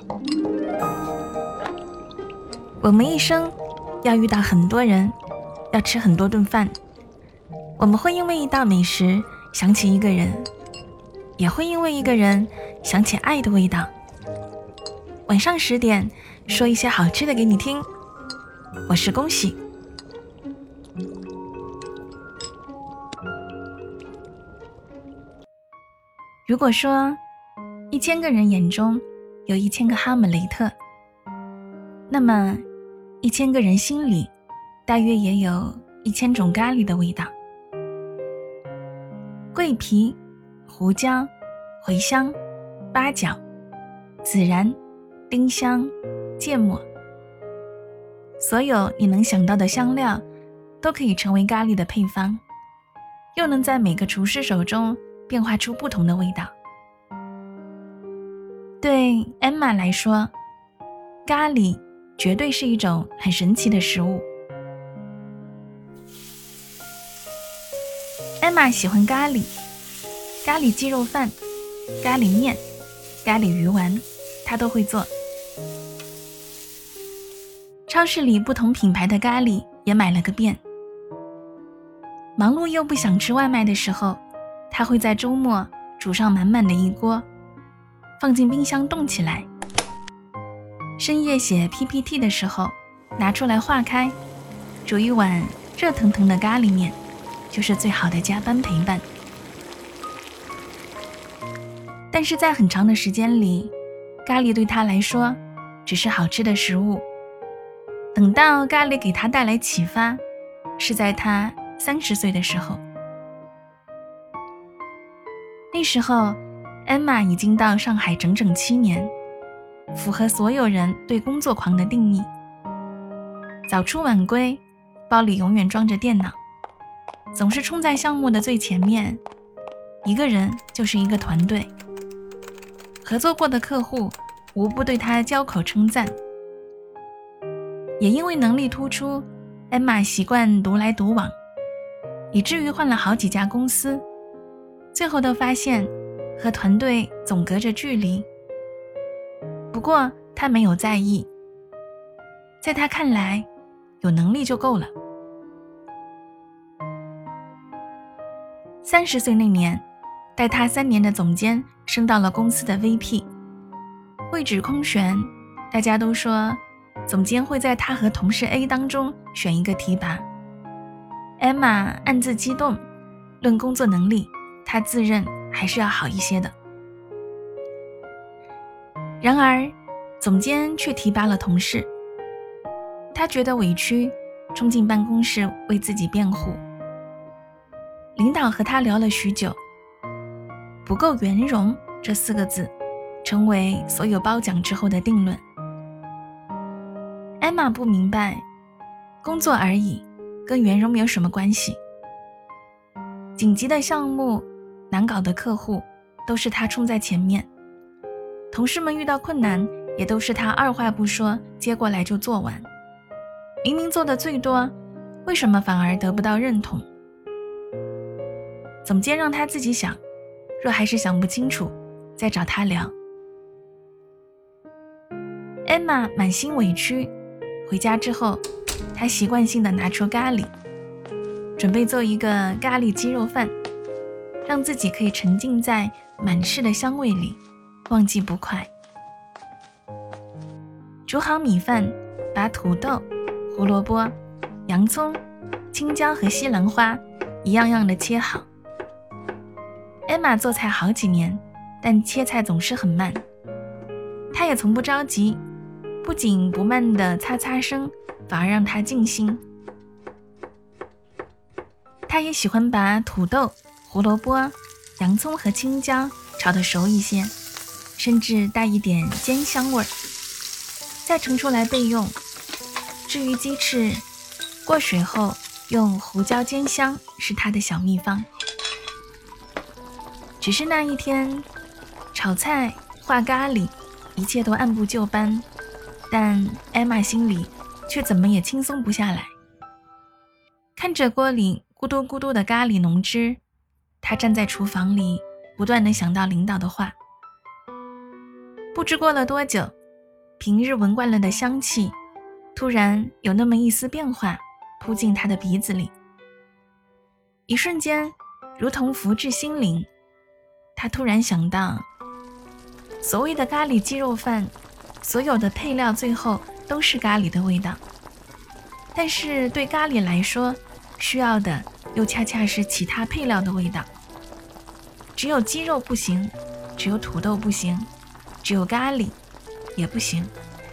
我们一生要遇到很多人，要吃很多顿饭，我们会因为一道美食想起一个人，也会因为一个人想起爱的味道。晚上10点，说一些好吃的给你听，我是恭喜。如果说1000个人眼中有1000个哈姆雷特，那么1000个人心里大约也有1000种咖喱的味道。桂皮、胡椒、茴香、八角、孜然、丁香、芥末，所有你能想到的香料都可以成为咖喱的配方，又能在每个厨师手中变化出不同的味道。对 Emma 来说，咖喱绝对是一种很神奇的食物。Emma 喜欢咖喱，咖喱鸡肉饭、咖喱面、咖喱鱼丸，她都会做。超市里不同品牌的咖喱也买了个遍。忙碌又不想吃外卖的时候，她会在周末煮上满满的一锅，放进冰箱冻起来。深夜写 PPT 的时候，拿出来化开，煮一碗热腾腾的咖喱面，就是最好的加班陪伴。但是在很长的时间里，咖喱对他来说只是好吃的食物。等到咖喱给他带来启发，是在他30岁的时候。那时候 Emma 已经到上海整整7年，符合所有人对工作狂的定义。早出晚归，包里永远装着电脑，总是冲在项目的最前面，一个人就是一个团队。合作过的客户无不对他交口称赞。也因为能力突出， Emma 习惯独来独往，以至于换了好几家公司，最后都发现和团队总隔着距离。不过他没有在意，在他看来，有能力就够了。30岁那年，带他3年的总监升到了公司的 VP， 位置空悬，大家都说总监会在他和同事 A 当中选一个提拔。 Emma 暗自激动，论工作能力，他自认还是要好一些的。然而总监却提拔了同事，他觉得委屈，冲进办公室为自己辩护。领导和他聊了许久，不够圆融这4个字成为所有褒奖之后的定论。Emma 不明白，工作而已，跟圆融没有什么关系。紧急的项目，难搞的客户，都是他冲在前面。同事们遇到困难，也都是他二话不说接过来就做完。明明做的最多，为什么反而得不到认同？总监让他自己想，若还是想不清楚，再找他聊。Emma 满心委屈，回家之后，她习惯性地拿出咖喱，准备做一个咖喱鸡肉饭，让自己可以沉浸在满室的香味里，忘记不快。煮好米饭，把土豆、胡萝卜、洋葱、青椒和西兰花一样样的切好。Emma 做菜好几年，但切菜总是很慢。她也从不着急，不仅不慢的擦擦声，反而让她静心。她也喜欢把土豆、胡萝卜、洋葱和青椒炒得熟一些，甚至带一点煎香味儿，再盛出来备用。至于鸡翅，过水后用胡椒煎香是她的小秘方。只是那一天，炒菜、画咖喱，一切都按部就班，但 Emma 心里却怎么也轻松不下来。看着锅里咕嘟咕嘟的咖喱浓汁，她站在厨房里，不断地想到领导的话。不知过了多久， 平日闻惯了的香气，突然有那么一丝变化扑进他的鼻子里。一瞬间，如同福至心灵，他突然想到，所谓的咖喱鸡肉饭，所有的配料最后都是咖喱的味道，但是对咖喱来说，需要的又恰恰是其他配料的味道。只有鸡肉不行，只有土豆不行，只有咖喱也不行。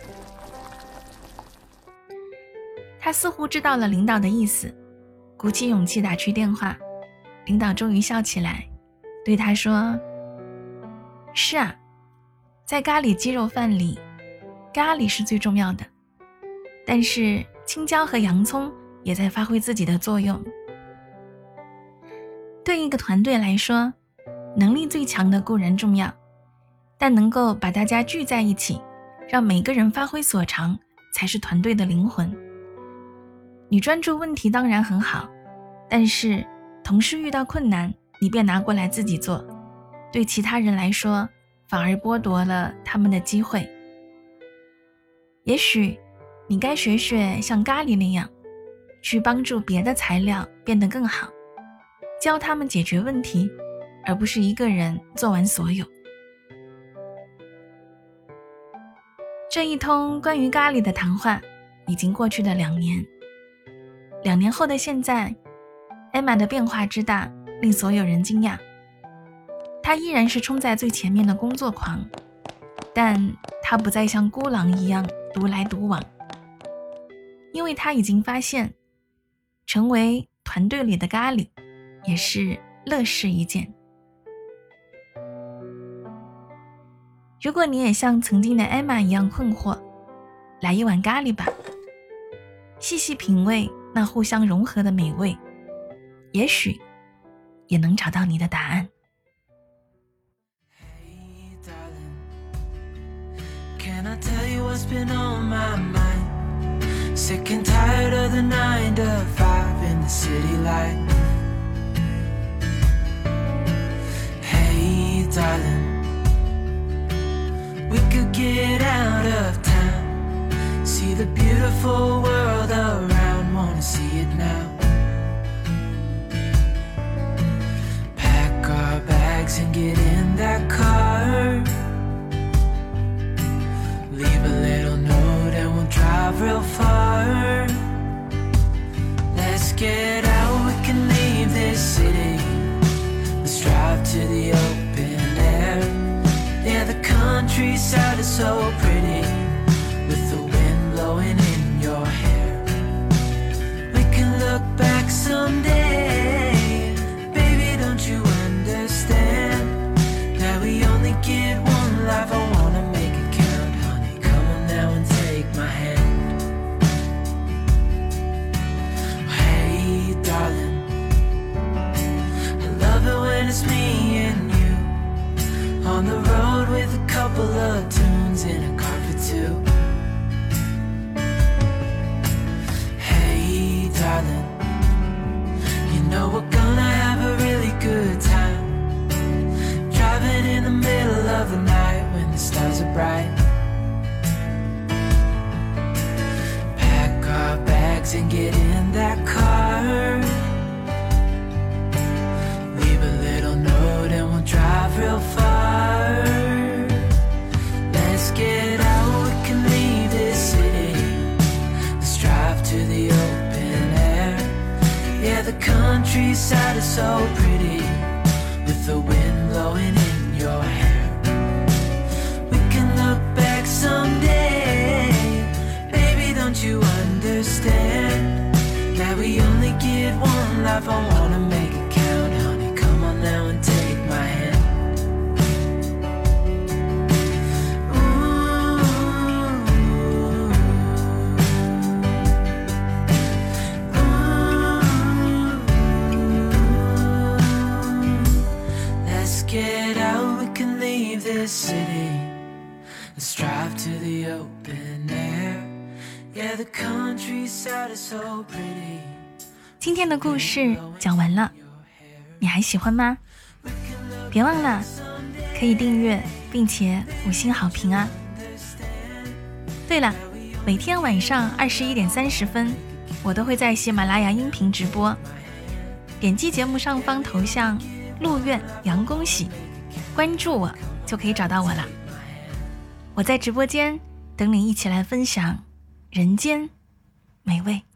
他似乎知道了领导的意思，鼓起勇气打去电话。领导终于笑起来，对他说，是啊，在咖喱鸡肉饭里，咖喱是最重要的，但是青椒和洋葱也在发挥自己的作用。对一个团队来说，能力最强的固然重要，但能够把大家聚在一起，让每个人发挥所长，才是团队的灵魂。你专注问题当然很好，但是同事遇到困难，你便拿过来自己做，对其他人来说，反而剥夺了他们的机会。也许你该学学像咖喱那样，去帮助别的材料变得更好，教他们解决问题，而不是一个人做完所有。这一通关于咖喱的谈话已经过去了2年。2年后的现在，艾玛的变化之大令所有人惊讶。她依然是冲在最前面的工作狂，但她不再像孤狼一样独来独往，因为她已经发现，成为团队里的咖喱也是乐事一件。如果你也像曾经的艾玛一样困惑，来一碗咖喱吧，细细品味那互相融合的美味，也许也能找到你的答案。 Can I tell you what's been on my mind? Sick and tired of the 9 to 5 in the city light. Hey darling, we could get out of town, see the beautiful world around, wanna see it now. Pack our bags and get in that car, leave a little note and we'll drive real far. Let's get out, we can leave this city, let's drive to the open air. Yeah, the countryside is so pretty, with the wind blowing in your hair. We can look back someday, baby, don't you understand, that we only get one life, I wanna make it count, honey, come on now and take my hand. Hey darling, I love it when it's me and you, on the road with a couple of tunes in a car for two. Hey darling, you know we're gonna have a really good time, driving in the middle of the night when the stars are bright. Pack our bags and get in that car, leave a little note and we'll drive real far. Let's get out, we can leave this city, let's drive to the open air. Yeah, the countryside is so pretty, with the wind blowing in your hair. We can look back someday, baby, don't you understand, that we only get one life, I wanna make it count, honey, come on now and take my hand. Get out, we can leave this city, let's drive to the open air. Yeah, the countryside is so pretty. 今天的故事讲完了，你还喜欢吗？别忘了可以订阅并且5星好评啊！ 对了，每天晚上21:30，我都会在喜马拉雅音频直播，点击节目上方头像陆苑杨恭喜，关注我就可以找到我了。我在直播间等你一起来分享人间美味。